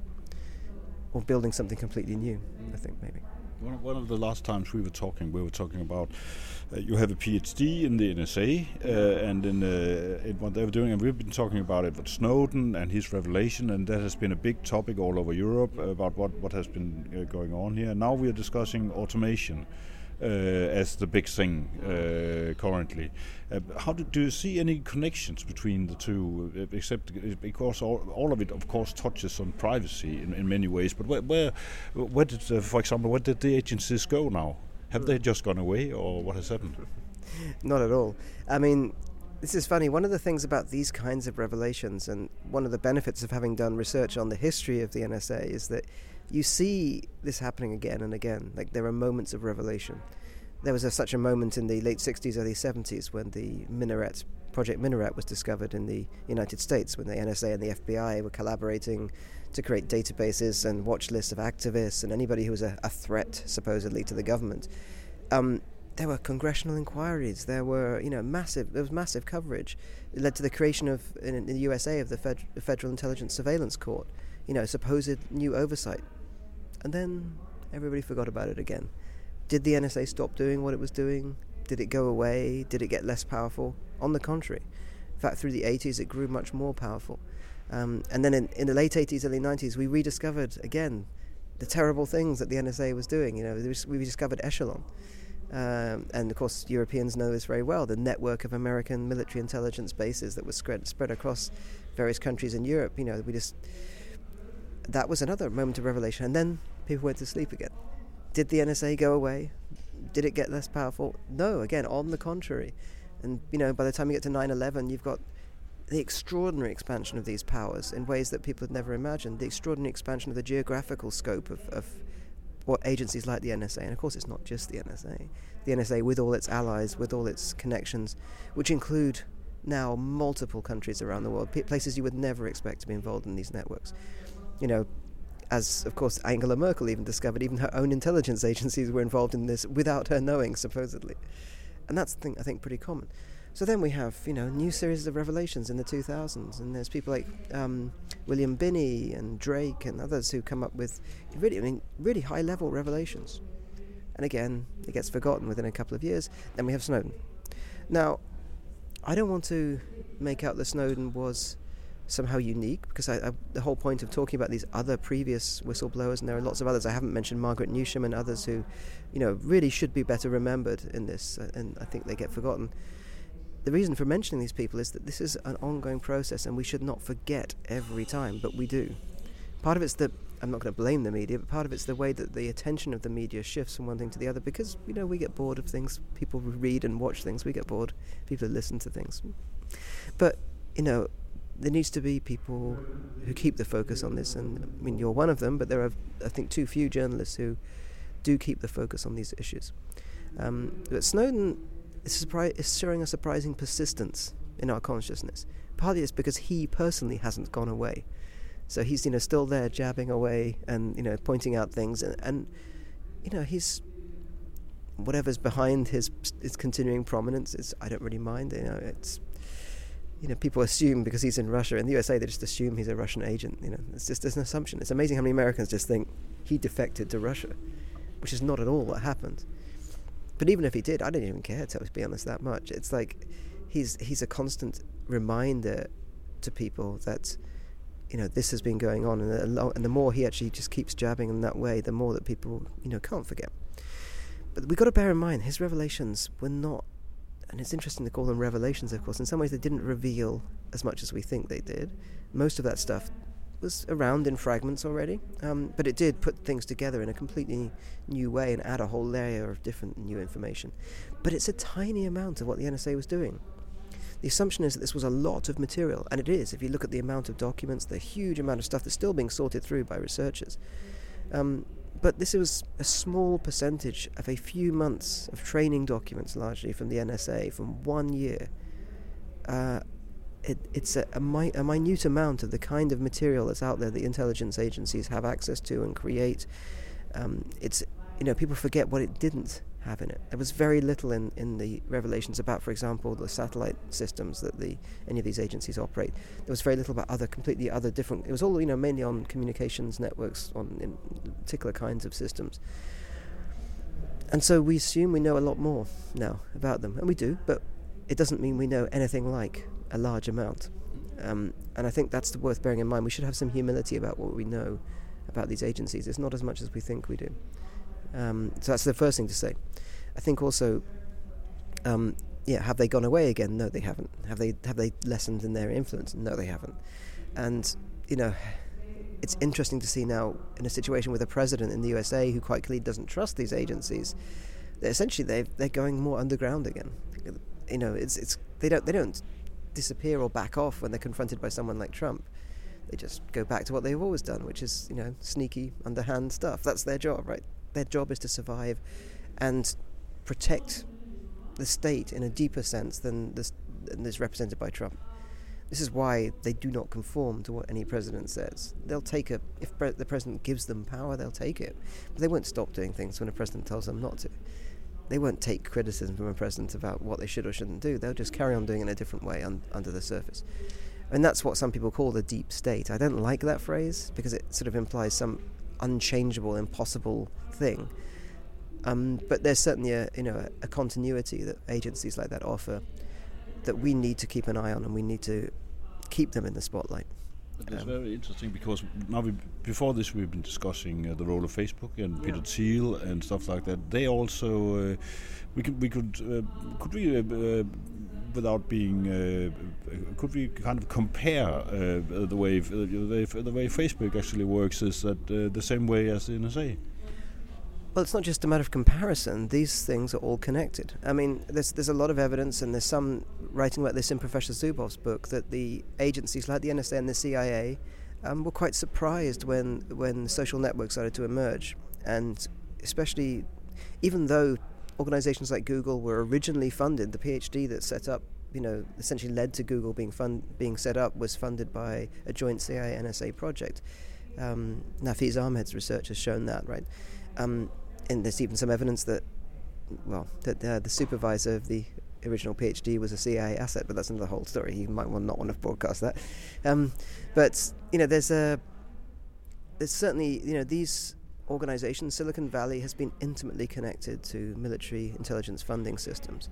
[SPEAKER 2] or building something completely new, I think, maybe.
[SPEAKER 1] One of, one of the last times we were talking, we were talking about uh, you have a PhD in the N S A uh, and in, uh, in what they were doing, and we've been talking about Edward Snowden and his revelation, and that has been a big topic all over Europe about what, what has been uh, going on here. Now we are discussing automation uh, as the big thing uh, currently. Uh, how do, do you see any connections between the two, uh, except because all, all of it, of course, touches on privacy in, in many ways, but where, where, where did, uh, for example, where did the agencies go now? Have they just gone away, or what has happened?
[SPEAKER 2] Not at all. I mean, this is funny. One of the things about these kinds of revelations, and one of the benefits of having done research on the history of the N S A, is that you see this happening again and again. Like, there are moments of revelation. There was a, such a moment in the late sixties, early seventies when the Minaret, Project Minaret was discovered in the United States, when the N S A and the F B I were collaborating to create databases and watch lists of activists and anybody who was a, a threat, supposedly, to the government. Um, there were congressional inquiries. There were, you know, massive. There was massive coverage. It led to the creation of, in, in the U S A, of the, Fed, the Federal Intelligence Surveillance Court. You know, supposed new oversight, and then everybody forgot about it again. Did the N S A stop doing what it was doing? Did it go away? Did it get less powerful? On the contrary. In fact, through the eighties, it grew much more powerful. Um, and then in, in the late eighties, early nineties, we rediscovered, again, the terrible things that the N S A was doing. You know, we discovered Echelon. Um, and, of course, Europeans know this very well, the network of American military intelligence bases that was spread, spread across various countries in Europe. You know, we just... That was another moment of revelation. And then people went to sleep again. Did the N S A go away? Did it get less powerful? No, again, on the contrary. And, you know, by the time you get to nine eleven, you've got the extraordinary expansion of these powers in ways that people had never imagined, the extraordinary expansion of the geographical scope of, of what agencies like the N S A, and of course it's not just the N S A, the N S A with all its allies, with all its connections, which include now multiple countries around the world, places you would never expect to be involved in these networks. You know, as, of course, Angela Merkel even discovered, even her own intelligence agencies were involved in this without her knowing, supposedly. And that's, I think, I think pretty common. So then we have, you know, new series of revelations in the two thousands, and there's people like um, William Binney and Drake and others who come up with really, I mean, really high-level revelations. And again, it gets forgotten within a couple of years. Then we have Snowden. Now, I don't want to make out that Snowden was somehow unique, because I, I, the whole point of talking about these other previous whistleblowers, and there are lots of others, I haven't mentioned Margaret Newsham and others who, you know, really should be better remembered in this, and I think they get forgotten. The reason for mentioning these people is that this is an ongoing process, and we should not forget every time, but we do. Part of it's the, I'm not going to blame the media, but part of it's the way that the attention of the media shifts from one thing to the other, because, you know, we get bored of things. People who read and watch things, we get bored. People who listen to things. But, you know, there needs to be people who keep the focus on this, and I mean, you're one of them, but there are, I think, too few journalists who do keep the focus on these issues. Um, but Snowden is, surpri- is showing a surprising persistence in our consciousness. Partly it's because he personally hasn't gone away. So he's, you know, still there jabbing away and, you know, pointing out things, and, and you know, he's, whatever's behind his his continuing prominence is, I don't really mind. You know, it's, you know, people assume because he's in Russia, in the U S A, they just assume he's a Russian agent. You know, it's just it's an assumption. It's amazing how many Americans just think he defected to Russia, which is not at all what happened. But even if he did, I don't even care, to be honest, that much. It's like he's he's a constant reminder to people that, you know, this has been going on, and, a lo- and the more he actually just keeps jabbing in that way, the more that people, you know, can't forget. But we've got to bear in mind, his revelations were not, and it's interesting to call them revelations, of course. In some ways, they didn't reveal as much as we think they did. Most of that stuff was around in fragments already, um, but it did put things together in a completely new way and add a whole layer of different new information. But it's a tiny amount of what the N S A was doing. The assumption is that this was a lot of material, and it is. If you look at the amount of documents, the huge amount of stuff that's still being sorted through by researchers. Um, but this was a small percentage of a few months of training documents, largely from the N S A, from one year. Uh, it, it's a, a, mi- a minute amount of the kind of material that's out there that intelligence agencies have access to and create. Um, it's, you know, people forget what it didn't have in it. There was very little in, in the revelations about, for example, the satellite systems that the any of these agencies operate. There was very little about other, completely other different, it was all, you know, mainly on communications networks, on in particular kinds of systems. And so we assume we know a lot more now about them, and we do, but it doesn't mean we know anything like a large amount. Um, and I think that's worth bearing in mind. We should have some humility about what we know about these agencies. It's not as much as we think we do. Um, so that's the first thing to say. I think also, um, yeah, have they gone away again? No, they haven't. Have they have they lessened in their influence? No, they haven't. And, you know, it's interesting to see now in a situation with a president in the U S A who quite clearly doesn't trust these agencies, that essentially they they're going more underground again. You know, it's it's they don't they don't disappear or back off when they're confronted by someone like Trump. They just go back to what they've always done, which is, you know, sneaky, underhand stuff. That's their job, right? Their job is to survive and protect the state in a deeper sense than this than is represented by Trump. This is why they do not conform to what any president says. They'll take a if pre- the president gives them power, they'll take it, but they won't stop doing things when a president tells them not to. They won't take criticism from a president about what they should or shouldn't do. They'll just carry on doing it in a different way un- under the surface. And that's what some people call the deep state. I don't like that phrase because it sort of implies some unchangeable, impossible thing. Um, but there's certainly a, you know, a, a continuity that agencies like that offer that we need to keep an eye on, and we need to keep them in the spotlight.
[SPEAKER 1] It's
[SPEAKER 2] um,
[SPEAKER 1] very interesting because now we, before this we've been discussing uh, the role of Facebook and yeah. Peter Thiel and stuff like that. They also uh, we could we could uh, could we uh, uh, without being uh, could we kind of compare uh, the way uh, the, the way Facebook actually works is that uh, the same way as the N S A?
[SPEAKER 2] Well, it's not just a matter of comparison. These things are all connected. I mean, there's there's a lot of evidence, and there's some writing about this in Professor Zubov's book, that the agencies like the N S A and the C I A um, were quite surprised when when social networks started to emerge, and especially even though organizations like Google were originally funded, the PhD that set up, you know, essentially led to Google being fund being set up was funded by a joint C I A N S A project. Um, Nafeez Ahmed's research has shown that, right? Um, and there's even some evidence that, well, that uh, the supervisor of the original PhD was a C I A asset, but that's another whole story. You might not want to broadcast that. Um, but you know, there's a there's certainly you know these organizations. Silicon Valley has been intimately connected to military intelligence funding systems.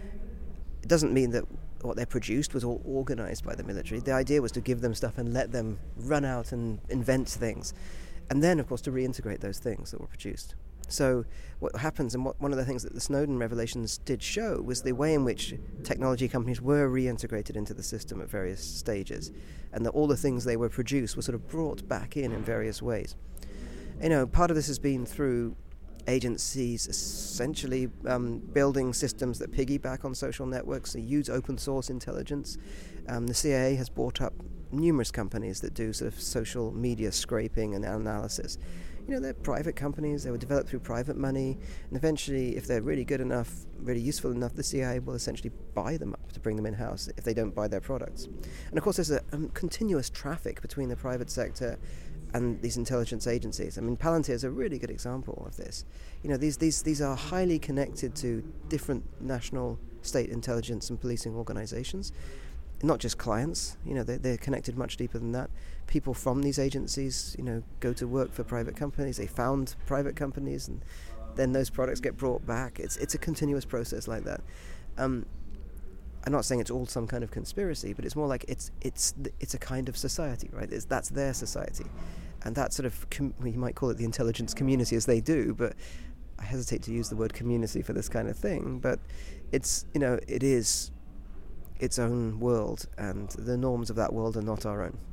[SPEAKER 2] It doesn't mean that what they produced was all organized by the military. The idea was to give them stuff and let them run out and invent things, and then, of course, to reintegrate those things that were produced. So what happens, and what one of the things that the Snowden revelations did show, was the way in which technology companies were reintegrated into the system at various stages, and that all the things they were produced were sort of brought back in in various ways. You know, part of this has been through agencies essentially um, building systems that piggyback on social networks, they use open source intelligence. Um, the C I A has bought up numerous companies that do sort of social media scraping and analysis. You know, they're private companies, they were developed through private money, and eventually, if they're really good enough, really useful enough, the C I A will essentially buy them up to bring them in-house if they don't buy their products. And of course, there's a um, continuous traffic between the private sector and these intelligence agencies. I mean, Palantir is a really good example of this. You know, these these these are highly connected to different national, state intelligence and policing organizations, not just clients. You know, they're, they're connected much deeper than that. People from these agencies, you know, go to work for private companies. They found private companies, and then those products get brought back. It's it's a continuous process like that. Um, I'm not saying it's all some kind of conspiracy, but it's more like it's it's it's a kind of society, right? It's, that's their society. And that sort of, com- you might call it the intelligence community, as they do, but I hesitate to use the word community for this kind of thing. But it's, you know, it is its own world, and the norms of that world are not our own.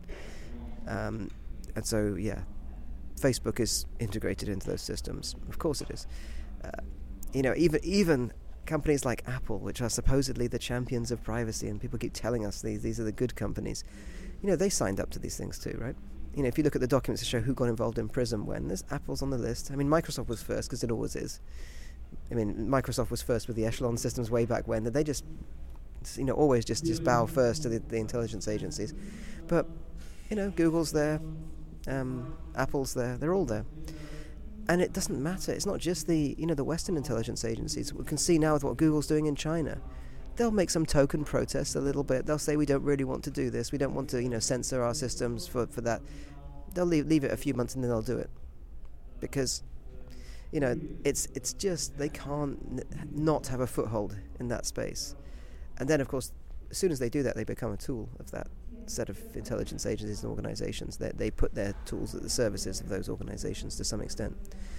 [SPEAKER 2] Um, and so, yeah, Facebook is integrated into those systems. Of course it is. Uh, you know, even even companies like Apple, which are supposedly the champions of privacy, and people keep telling us these these are the good companies, you know, they signed up to these things too, right? You know, if you look at the documents that show who got involved in PRISM when, there's Apple's on the list. I mean, Microsoft was first, because it always is. I mean, Microsoft was first with the Echelon systems way back when. That they just, you know, always just, just bow first to the, the intelligence agencies. But, you know, Google's there, um, Apple's there, they're all there. And it doesn't matter. It's not just the, you know, the Western intelligence agencies. We can see now with what Google's doing in China. They'll make some token protests a little bit. They'll say, we don't really want to do this. We don't want to, you know, censor our systems for, for that. They'll leave, leave it a few months and then they'll do it. Because, you know, it's it's just, they can't n- not have a foothold in that space. And then, of course, as soon as they do that, they become a tool of that set of intelligence agencies and organizations. They, they put their tools at the services of those organizations to some extent.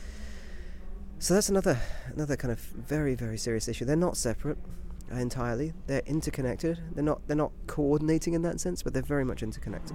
[SPEAKER 2] So that's another another kind of very, very serious issue. They're not separate entirely. They're interconnected. They're not they're not coordinating in that sense, but they're very much interconnected.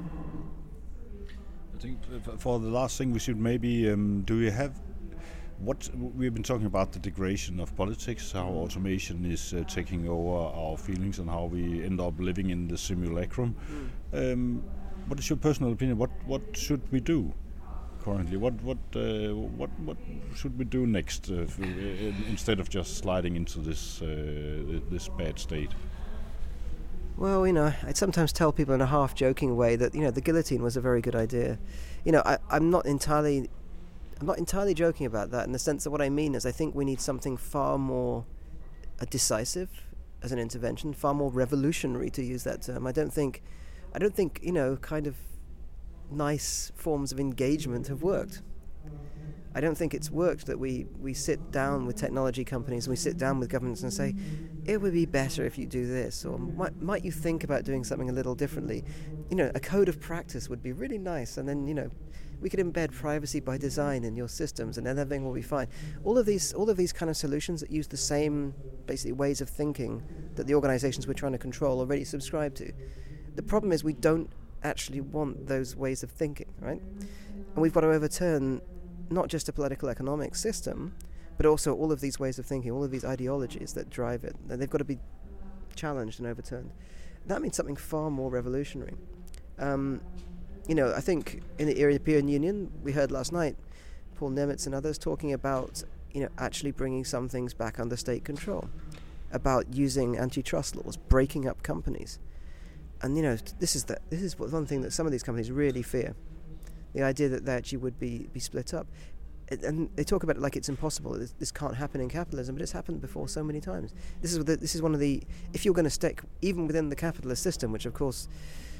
[SPEAKER 1] I think for the last thing we should maybe um, do you have what we've been talking about, the degradation of politics, how automation is uh, taking over our feelings and how we end up living in the simulacrum. Mm. Um, what is your personal opinion? What what should we do currently? What what uh, what what should we do next uh, f- uh, instead of just sliding into this uh, this bad state?
[SPEAKER 2] Well, you know, I'd sometimes tell people in a half-joking way that, you know, the guillotine was a very good idea. You know, I, I'm not entirely, I'm not entirely joking about that, in the sense that what I mean is I think we need something far more uh, decisive as an intervention, far more revolutionary, to use that term. I don't think, I don't think, you know, kind of nice forms of engagement have worked. I don't think it's worked that we, we sit down with technology companies and we sit down with governments and say, it would be better if you do this, or might, might you think about doing something a little differently. You know, a code of practice would be really nice, and then, you know, we could embed privacy by design in your systems and then everything will be fine. All of these all of these kind of solutions that use the same basically ways of thinking that the organizations we're trying to control already subscribe to. The problem is we don't actually want those ways of thinking, right? And we've got to overturn not just a political economic system, but also all of these ways of thinking, all of these ideologies that drive it. They've got to be challenged and overturned. That means something far more revolutionary. Um, you know, I think in the European Union, we heard last night, Paul Nemitz and others talking about, you know, actually bringing some things back under state control, about using antitrust laws, breaking up companies. And, you know, this is the, this is one thing that some of these companies really fear. The idea that they actually would be, be split up. and they talk about it like it's impossible. This, this can't happen in capitalism, but it's happened before so many times. This is the, this is one of the, if you're going to stick even within the capitalist system, which of course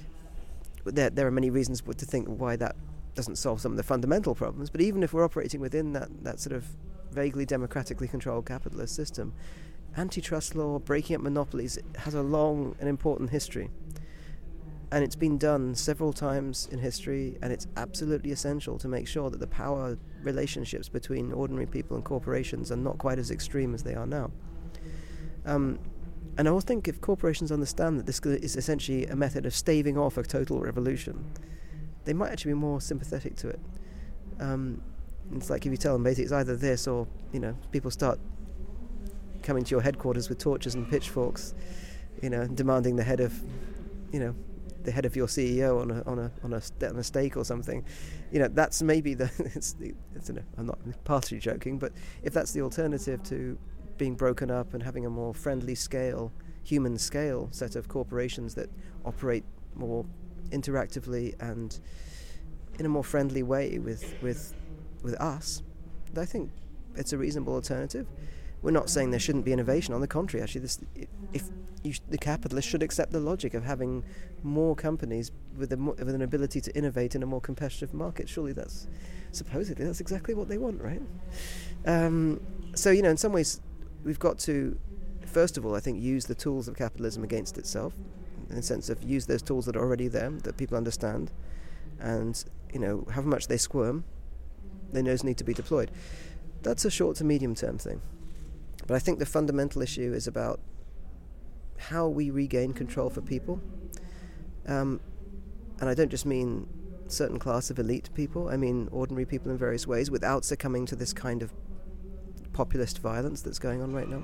[SPEAKER 2] there there are many reasons to think why that doesn't solve some of the fundamental problems. But even if we're operating within that that sort of vaguely democratically controlled capitalist system, antitrust law, breaking up monopolies, has a long and important history. And it's been done several times in history, and it's absolutely essential to make sure that the power relationships between ordinary people and corporations are not quite as extreme as they are now. Um, and I always think if corporations understand that this is essentially a method of staving off a total revolution, they might actually be more sympathetic to it. Um, it's like if you tell them basically it's either this or, you know, people start coming to your headquarters with torches and pitchforks, you know, demanding the head of, you know, the head of your C E O on a on a on a, st- on a stake or something, you know, that's maybe the. It's, it's an, I'm not partially joking, but if that's the alternative to being broken up and having a more friendly scale, human scale set of corporations that operate more interactively and in a more friendly way with with with us, I think it's a reasonable alternative. We're not saying there shouldn't be innovation. On the contrary, actually, this, if you sh- the capitalists should accept the logic of having more companies with, a mo- with an ability to innovate in a more competitive market. Surely that's, supposedly, that's exactly what they want, right? Um, so, you know, in some ways, we've got to, first of all, I think, use the tools of capitalism against itself, in the sense of use those tools that are already there, that people understand, and, you know, however much they squirm, they know need to be deployed. That's a short to medium term thing. But I think the fundamental issue is about how we regain control for people. Um, and I don't just mean certain class of elite people, I mean ordinary people in various ways, without succumbing to this kind of populist violence that's going on right now.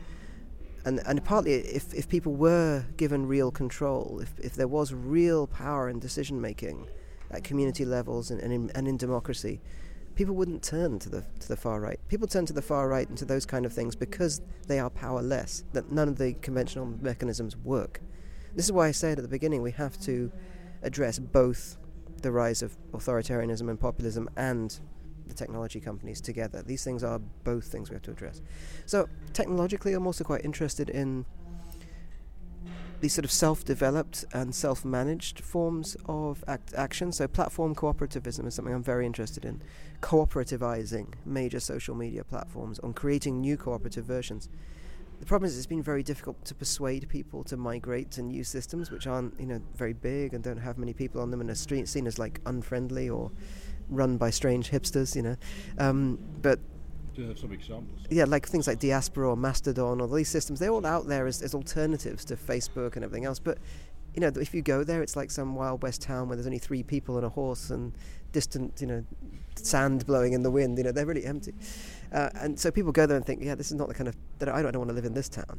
[SPEAKER 2] And and partly if, if people were given real control, if, if there was real power in decision making at community levels and, and, in, and in democracy, people wouldn't turn to the to the far right. People turn to the far right and to those kind of things because they are powerless, that none of the conventional mechanisms work. This is why I said at the beginning we have to address both the rise of authoritarianism and populism and the technology companies together. These things are both things we have to address. So technologically, I'm also quite interested in these sort of self-developed and self-managed forms of act- action. So platform cooperativism is something I'm very interested in. Cooperativizing major social media platforms, on creating new cooperative versions. The problem is it's been very difficult to persuade people to migrate to new systems which aren't, you know, very big and don't have many people on them and are seen as like unfriendly or run by strange hipsters, you know. Um, but
[SPEAKER 1] Do you have some examples?
[SPEAKER 2] Yeah, like things like Diaspora or Mastodon or these systems, they're all out there as, as alternatives to Facebook and everything else. But, you know, if you go there, it's like some Wild West town where there's only three people and a horse and distant, you know, sand blowing in the wind. You know, they're really empty. Uh, and so people go there and think, yeah, this is not the kind of, that I don't, I don't want to live in this town.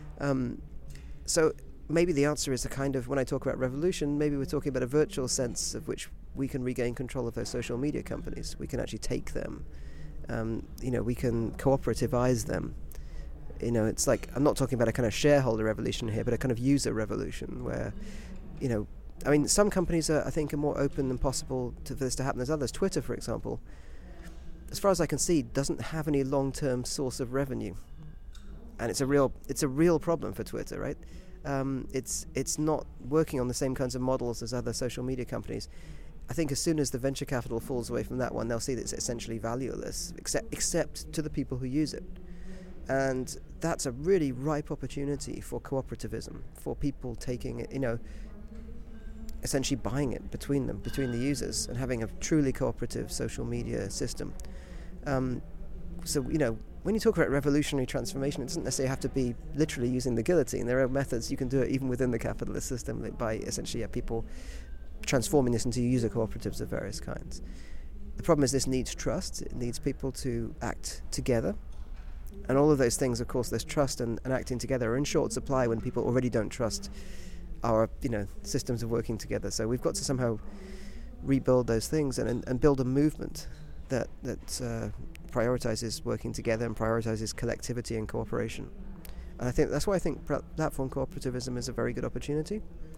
[SPEAKER 2] Um, so maybe the answer is a kind of, when I talk about revolution, maybe we're talking about a virtual sense of which we can regain control of those social media companies. We can actually take them. Um, you know, we can cooperativize them. You know, it's like, I'm not talking about a kind of shareholder revolution here, but a kind of user revolution where, you know, I mean, some companies are, I think, are more open than possible to, for this to happen than others. Twitter, for example, as far as I can see, doesn't have any long-term source of revenue, and it's a real, it's a real problem for Twitter, right? Um, it's it's not working on the same kinds of models as other social media companies. I think as soon as the venture capital falls away from that one, they'll see that it's essentially valueless, except except to the people who use it. And that's a really ripe opportunity for cooperativism, for people taking it, you know, essentially buying it between them, between the users, and having a truly cooperative social media system. Um, so, you know, when you talk about revolutionary transformation, it doesn't necessarily have to be literally using the guillotine. There are methods you can do it even within the capitalist system by essentially yeah, people transforming this into user cooperatives of various kinds. The problem is this needs trust. It needs people to act together. And all of those things, of course, there's trust and, and acting together are in short supply when people already don't trust our, you know, systems of working together. So we've got to somehow rebuild those things and, and, and build a movement that, that uh, prioritizes working together and prioritizes collectivity and cooperation. And I think that's why I think platform cooperativism is a very good opportunity.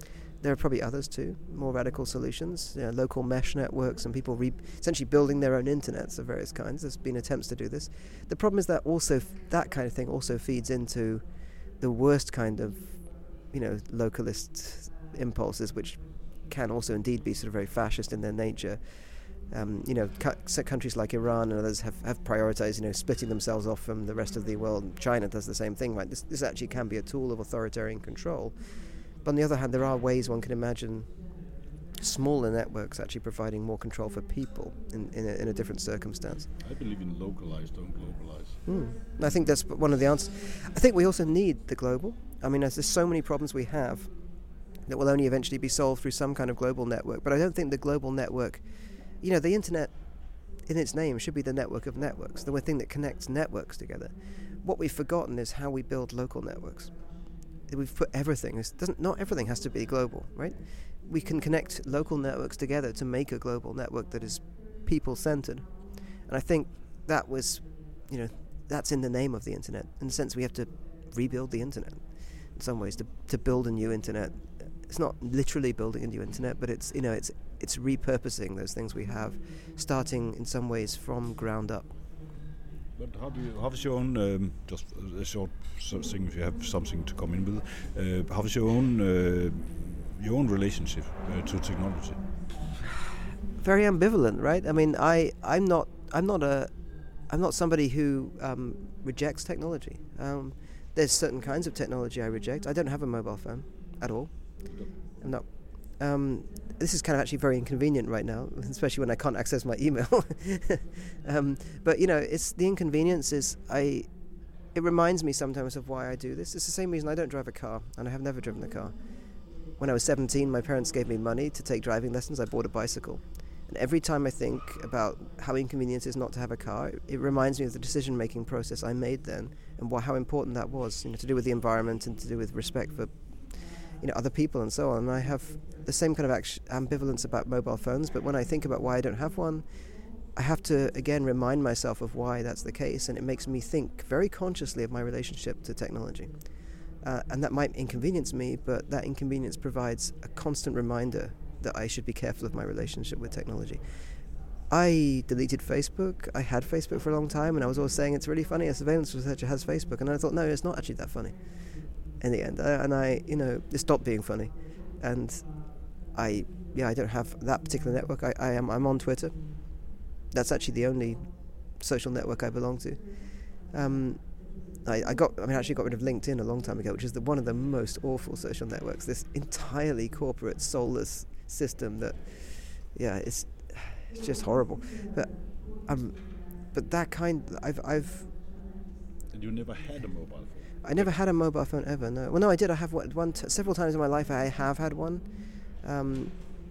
[SPEAKER 2] there are probably others too, more radical solutions, you know, local mesh networks and people re- essentially building their own internets of various kinds. There's been attempts to do this. The problem is that also f- that kind of thing also feeds into the worst kind of, you know, localist impulses, which can also indeed be sort of very fascist in their nature. Um, you know, cu- countries like Iran and others have, have prioritized, you know, splitting themselves off from the rest of the world. China does the same thing, right? This, this actually can be a tool of authoritarian control. But on the other hand, there are ways one can imagine smaller networks actually providing more control for people in, in, a, in a different circumstance.
[SPEAKER 1] I believe in localize, don't globalize.
[SPEAKER 2] Mm. I think that's one of the answers. I think we also need the global. I mean, there's so many problems we have that will only eventually be solved through some kind of global network. But I don't think the global network, you know, the internet in its name should be the network of networks, the thing that connects networks together. What we've forgotten is how we build local networks. We've put everything, it doesn't, not everything has to be global, right? We can connect local networks together to make a global network that is people-centered. And I think that was, you know, that's in the name of the internet. In the sense we have to rebuild the internet in some ways, to, to build a new internet. It's not literally building a new internet, but it's, you know, it's it's repurposing those things we have, starting in some ways from ground up.
[SPEAKER 1] But how do you, how is your own, um, just a short thing if you have something to come in with, uh, how is your own uh, your own relationship uh, to technology?
[SPEAKER 2] Very ambivalent, right? I mean, I I'm not I'm not a I'm not somebody who um, rejects technology. Um, there's certain kinds of technology I reject. I don't have a mobile phone at all. I'm not. Um, this is kind of actually very inconvenient right now, especially when I can't access my email. um, but you know, it's the inconvenience is I. It reminds me sometimes of why I do this. It's the same reason I don't drive a car, and I have never driven a car. When I was seventeen, my parents gave me money to take driving lessons. I bought a bicycle. And every time I think about how inconvenient it is not to have a car, it, it reminds me of the decision-making process I made then, and wh- how important that was, you know, to do with the environment and to do with respect for, you know, other people and so on. And I have the same kind of act- ambivalence about mobile phones, but when I think about why I don't have one, I have to, again, remind myself of why that's the case, and it makes me think very consciously of my relationship to technology. Uh, and that might inconvenience me, but that inconvenience provides a constant reminder that I should be careful of my relationship with technology. I deleted Facebook. I had Facebook for a long time, and I was always saying it's really funny a surveillance researcher has Facebook, and I thought, no, it's not actually that funny in the end. Uh, and I, you know, it stopped being funny. And I, yeah, I don't have that particular network. I, I am, I'm on Twitter. That's actually the only social network I belong to. Um, I, I got, I mean, I actually got rid of LinkedIn a long time ago, which is the, one of the most awful social networks. This entirely corporate, soulless system that, yeah, it's it's just horrible. But um, but that kind, I've I've.
[SPEAKER 1] And you never had a mobile phone?
[SPEAKER 2] I never had a mobile phone ever. No. Well, no, I did. I have one, one t- several times in my life. I have had one, um,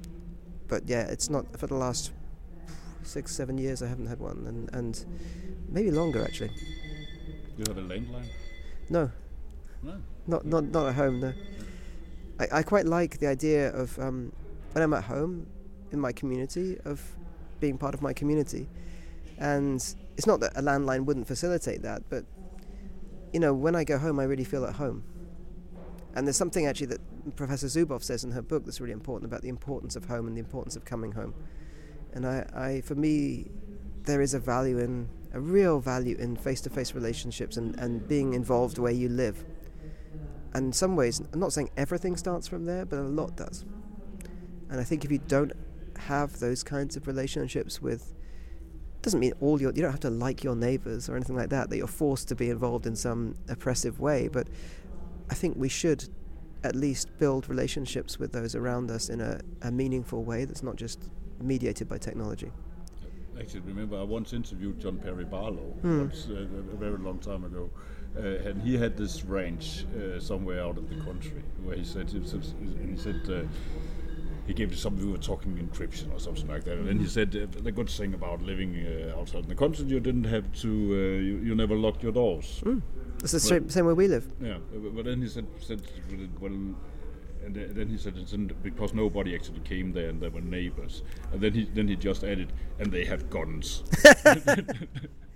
[SPEAKER 2] but yeah, it's not for the last six, seven years. I haven't had one, and and maybe longer actually.
[SPEAKER 1] Do you have a landline?
[SPEAKER 2] No.
[SPEAKER 1] No.
[SPEAKER 2] Not not not at home. No. I, I quite like the idea of um, when I'm at home in my community, of being part of my community, and it's not that a landline wouldn't facilitate that, but you know, when I go home, I really feel at home. And there's something actually that Professor Zuboff says in her book that's really important about the importance of home and the importance of coming home. And I, I for me, there is a value in a real value in face-to-face relationships and, and being involved where you live. And in some ways, I'm not saying everything starts from there, but a lot does. And I think if you don't have those kinds of relationships with, doesn't mean all your, you don't have to like your neighbours or anything like that, that you're forced to be involved in some oppressive way, but I think we should at least build relationships with those around us in a, a meaningful way that's not just mediated by technology.
[SPEAKER 1] Actually, remember I once interviewed John Perry Barlow
[SPEAKER 2] Hmm.
[SPEAKER 1] once, uh, a very long time ago, uh, and he had this ranch uh, somewhere out of the country where he said, and he said uh, he gave to somebody who were talking encryption or something like that, and then he said uh, the good thing about living uh, outside in the country, you didn't have to, uh, you, you never locked your doors.
[SPEAKER 2] Mm. It's the same, same way we live.
[SPEAKER 1] Yeah, but then he said, said well. And then he said it's because nobody actually came there, and there were neighbors. And then he then he just added, and they have guns.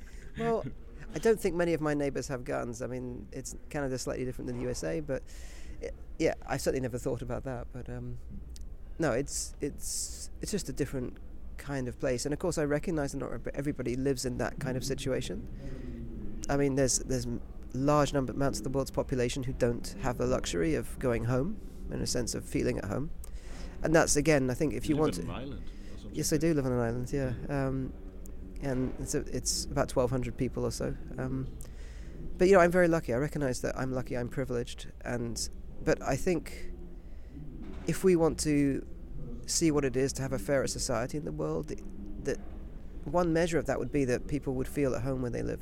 [SPEAKER 2] Well, I don't think many of my neighbors have guns. I mean, it's Canada's slightly different than the U S A, but it, yeah, I certainly never thought about that, but um, no, it's it's it's just a different kind of place, and of course I recognise that not everybody lives in that kind of situation. I mean, there's there's large number amounts of the world's population who don't have the luxury of going home, in a sense of feeling at home, and that's again, I think, if you,
[SPEAKER 1] you
[SPEAKER 2] want
[SPEAKER 1] live
[SPEAKER 2] to.
[SPEAKER 1] On an island or something?
[SPEAKER 2] Yes, I do live on an island. Yeah, um, and it's a, it's about twelve hundred people or so. Um, but you know, I'm very lucky. I recognise that I'm lucky. I'm privileged, and but I think if we want to see what it is to have a fairer society in the world, that one measure of that would be that people would feel at home where they live.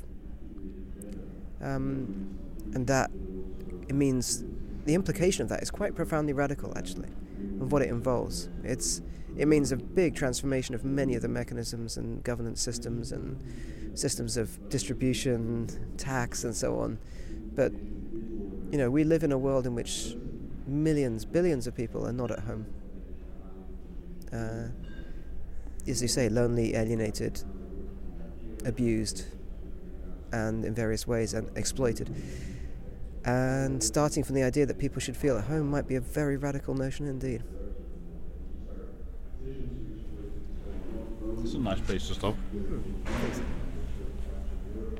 [SPEAKER 2] Um, and that it means the implication of that is quite profoundly radical, actually, of what it involves. It's it means a big transformation of many of the mechanisms and governance systems and systems of distribution, tax, and so on. But you know, we live in a world in which millions, billions of people are not at home. Uh, as you say, lonely, alienated, abused, and in various ways and exploited. And starting from the idea that people should feel at home might be a very radical notion indeed.
[SPEAKER 1] It's a nice place to stop.
[SPEAKER 2] Hmm.